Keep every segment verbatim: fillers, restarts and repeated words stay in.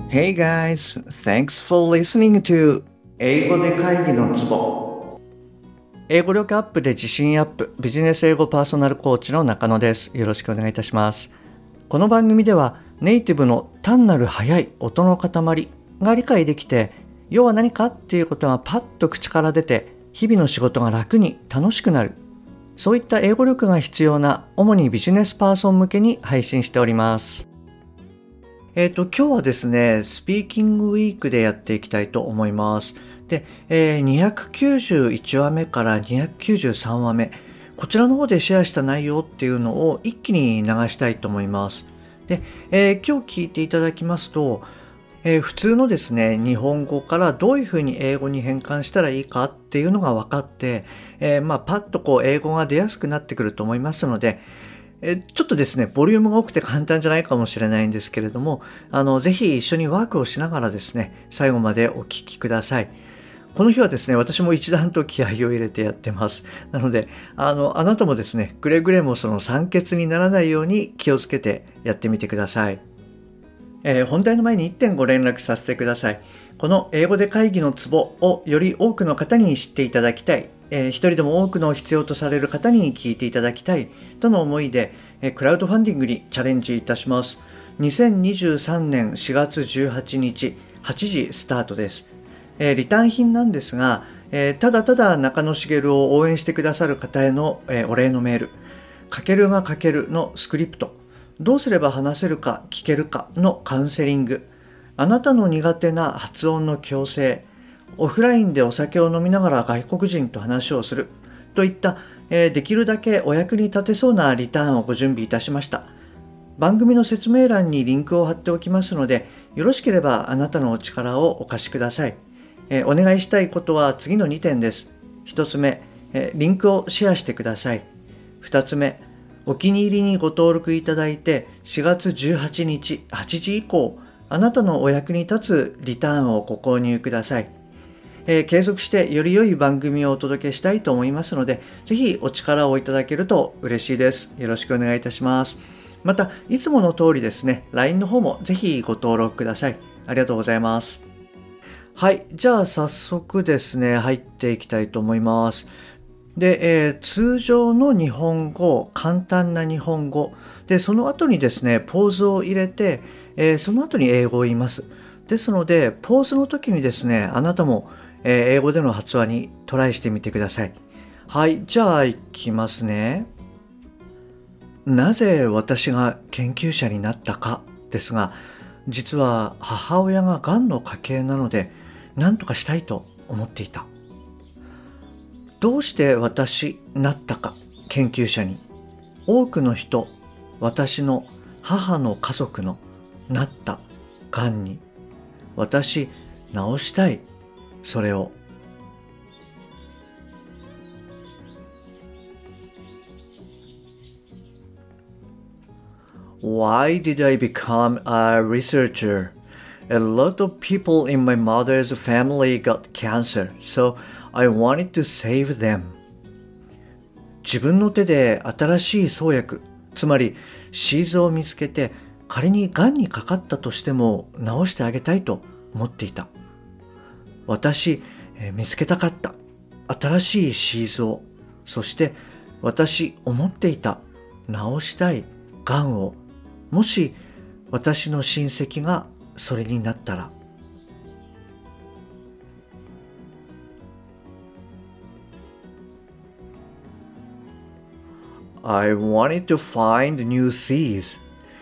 Hey guys, thanks for listening to 英語で会議のツボ。英語力アップで自信アップ、ビジネス英語パーソナルコーチの中野です。よろしくお願いいたします。この番組ではネイティブの単なる速い音の塊が理解できて、要は何かっていうことがパッと口から出て、日々の仕事が楽に楽しくなる。そういった英語力が必要な主にビジネスパーソン向けに配信しております。えっと、今日はですね、スピーキングウィークでやっていきたいと思います。で、えー、にひゃくきゅうじゅういちわめからにひゃくきゅうじゅうさんわめ、こちらの方でシェアした内容っていうのを一気に流したいと思います。で、えー今日聞いていただきますと、えー普通のですね、日本語からどういうふうに英語に変換したらいいかっていうのが分かって、えーまあ、パッとこう英語が出やすくなってくると思いますので、えちょっとですね、ボリュームが多くて簡単じゃないかもしれないんですけれども、あの、ぜひ一緒にワークをしながらですね、最後までお聞きください。この日はですね、私も一段と気合を入れてやってます。なので、あの、あなたもですね、くれぐれもその酸欠にならないように気をつけてやってみてください。えー本題の前にいってんご連絡させてください。この英語で会議のツボをより多くの方に知っていただきたい、えー一人でも多くの必要とされる方に聞いていただきたいとの思いで、えークラウドファンディングにチャレンジいたします。にせんにじゅうさんねんしがつじゅうはちにちはちじスタートです。えーリターン品なんですが、えーただただ中野茂を応援してくださる方への、えーお礼のメール、かけるがかけるのスクリプト、どうすれば話せるか聞けるかのカウンセリング、あなたの苦手な発音の矯正、オフラインでお酒を飲みながら外国人と話をするといった、えーできるだけお役に立てそうなリターンをご準備いたしました。番組の説明欄にリンクを貼っておきますので、よろしければあなたのお力をお貸しください。えーお願いしたいことは次のにてんです。ひとつめ、えーリンクをシェアしてください。ふたつめ、お気に入りにご登録いただいてしがつじゅうはちにちはちじ以降、あなたのお役に立つリターンをご購入ください。えー継続してより良い番組をお届けしたいと思いますので、ぜひお力をいただけると嬉しいです。よろしくお願いいたします。また、いつもの通りですね、ライン の方もぜひご登録ください。ありがとうございます。はい、じゃあ早速ですね、入っていきたいと思います。で、えー通常の日本語、簡単な日本語、で、その後にですね、ポーズを入れて、えーその後に英語を言います。ですので、ポーズの時にですね、あなたも、えー英語での発話にトライしてみてください。はい、じゃあ行きますね。なぜ私が研究者になったかですが、実は母親ががんの家系なので、何とかしたいと思っていた。どうして私なったか、研究者に。多くの人、私の母の家族のなったがんに、私治したい、それを。Why did I become a researcher? A lot of people in my mother's family got cancer, so I wanted to save them. 自分の手で新しい創薬、つまりシーズを見つけて、仮に癌にかかったとしても治してあげたいと思っていた。私、えー見つけたかった。新しいシーズを。そして私思っていた治したい癌を。もし私の親戚がそれになったら。I wanted to find new seas,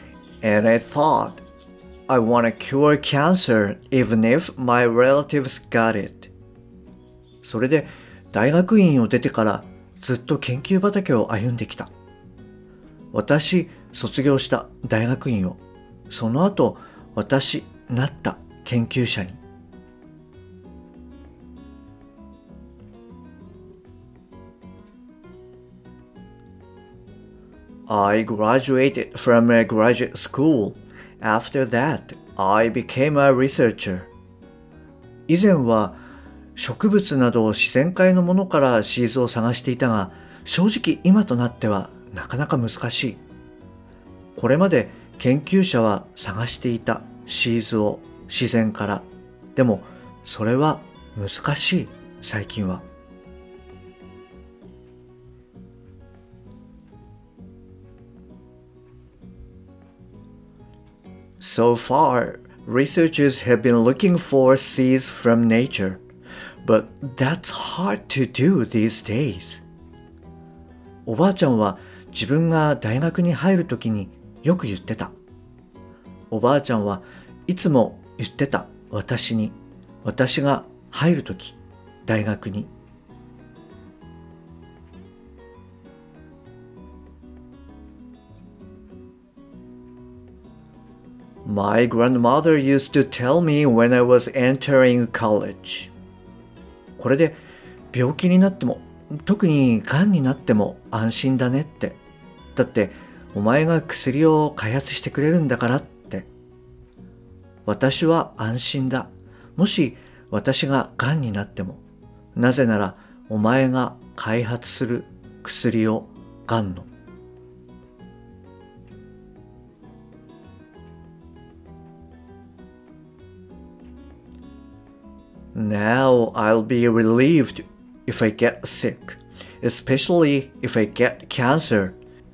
and I thought I want to cure cancer even if my relatives got it. それで大学院を出てからずっと研究畑を歩んできた。私、卒業した大学院を。その後、私、なった研究者に。I graduated from a graduate school. After that, I became a researcher. 以前は植物など自然界のものからシーズを探していたが、正直今となってはなかなか難しい。これまで研究者は探していたシーズを。 自然から。でもそれは難しい、最近は。So far, researchers have been looking for seeds from nature, but that's hard to do these days. おばあちゃんは自分が大学に入るときによく言ってた。おばあちゃんはいつも言ってた、私に。私が入るとき、大学に。My grandmother used to tell me when I was entering college. これで病気になっても、特に癌になっても安心だねって。だってお前が薬を開発してくれるんだからって。私は安心だ。もし私が癌になっても。なぜならお前が開発する薬を、癌の。Now I'll be relieved if I get sick, especially if I get cancer,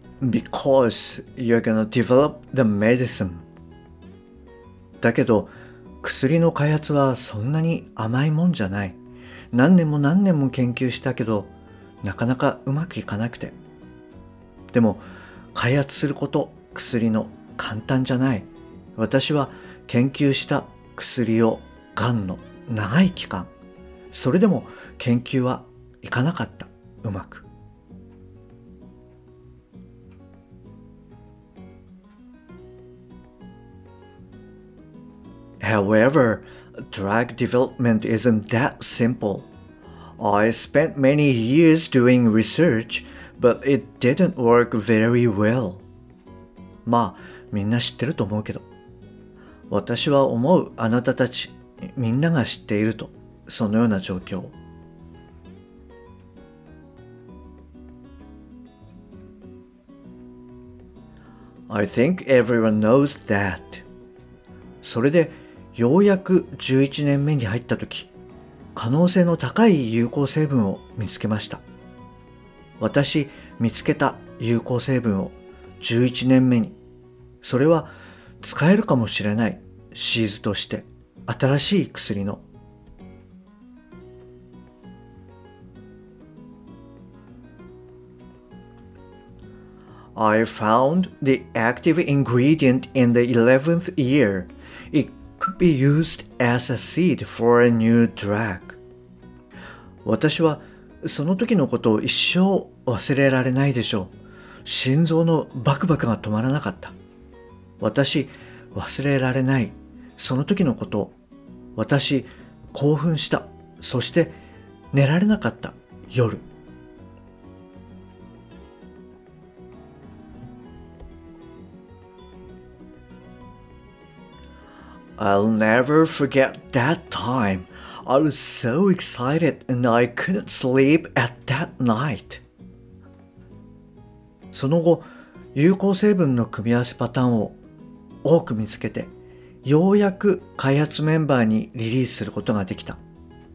because you're gonna develop the medicine. だけど、薬の開発はそんなに甘いもんじゃない。何年も何年も研究したけど、なかなかうまくいかなくて。でも、開発すること、薬の簡単じゃない。私は研究した薬を、がんの長い期間、それでも研究はいかなかった、うまく。However, drug development isn't that simple. I spent many years doing research, but it didn't work very well. まあ、みんな知ってると思うけど。私は思う、あなたたち、みんなが知っていると、そのような状況。I think everyone knows that. それで、ようやくじゅういちねんめに入ったとき、可能性の高い有効成分を見つけました。私、見つけた有効成分をじゅういちねんめに、それは使えるかもしれないシーズとして、新しい薬の。I found the active ingredient in the eleventh year. It could be used as a seed for a new drug. 私はその時のことを一生忘れられないでしょう。心臓のバクバクが止まらなかった。私、忘れられない。その時のことを。私、興奮した。そして寝られなかった。夜。I'll never forget that time. I was so excited and I couldn't sleep at that night. その後、有効成分の組み合わせパターンを多く見つけて、ようやく開発メンバーにリリースすることができた。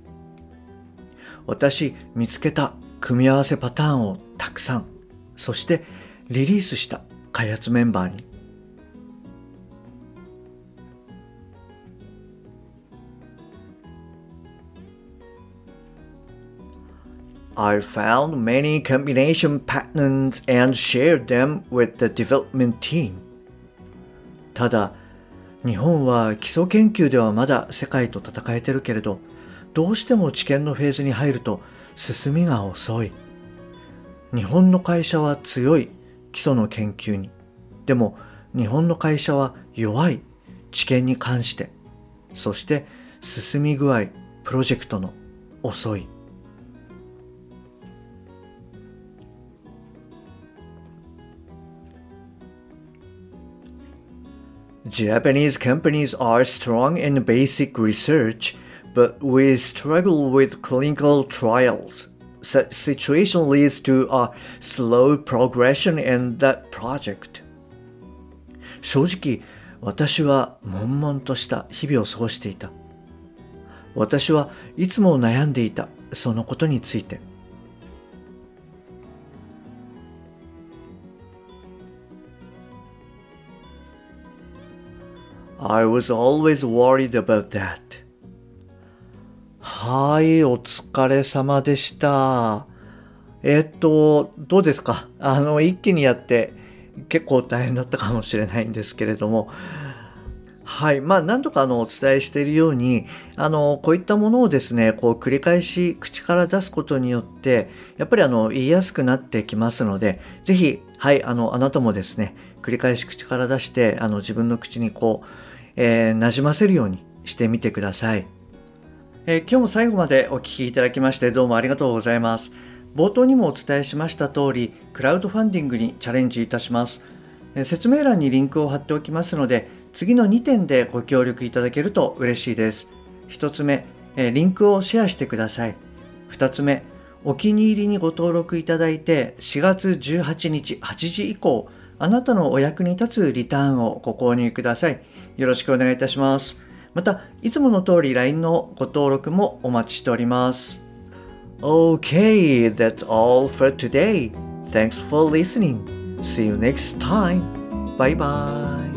私、見つけた組み合わせパターンをたくさん、そしてリリースした開発メンバーに。I found many combination patterns and shared them with the development team. ただ、日本は基礎研究ではまだ世界と戦えてるけれど、どうしても治験のフェーズに入ると進みが遅い。日本の会社は強い基礎の研究に。でも日本の会社は弱い治験に関して。そして進み具合、プロジェクトの遅い。Japanese companies are strong in basic research, but we struggle with clinical trials. Such situation leads to a slow progression in that project. 正直、 私は悶々とした日々を過ごしていた。私はいつも悩んでいた、そのことについて。I was always worried about that. はい、お疲れ様でした。えっと、どうですか？あの、一気にやって結構大変だったかもしれないんですけれども、はい。まあ、何度かあのお伝えしているように、あの、こういったものをですね、こう繰り返し口から出すことによって、やっぱりあの言いやすくなってきますので、ぜひ、はい、あの、あなたもですね、繰り返し口から出して、あの自分の口にこう、えー、馴染ませるようにしてみてください。えー今日も最後までお聞きいただきましてどうもありがとうございます。冒頭にもお伝えしました通り、クラウドファンディングにチャレンジいたします。えー説明欄にリンクを貼っておきますので、次のにてんでご協力いただけると嬉しいです。ひとつめ、えーリンクをシェアしてください。ふたつめ、お気に入りにご登録いただいて、しがつじゅうはちにちはちじ以降、あなたのお役に立つリターンをご購入ください。よろしくお願いいたします。また、いつもの通り ライン のご登録もお待ちしております。Okay, that's all for today. Thanks for listening. See you next time. Bye bye.